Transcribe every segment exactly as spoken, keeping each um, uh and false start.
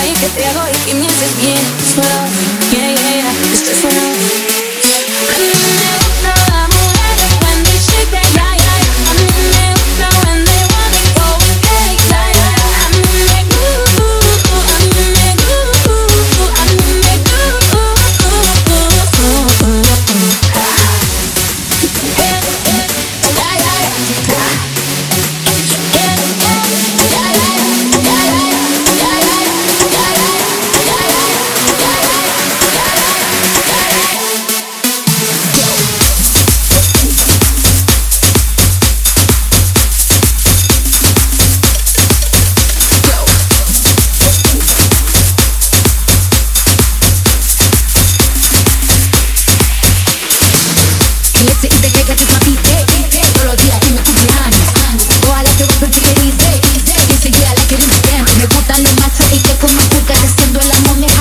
ahí que te hago y que me haces bien. Suelo, yeah, yeah, yeah, estoy suelo. A mí me gusta la mujer when they shake that, yeah, yeah, yeah. A mí me gusta when they wanna go and take, yeah, yeah, yeah. A mí me gusta, a mí me gusta, a mí me gusta.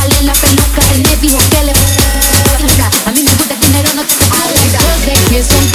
Que son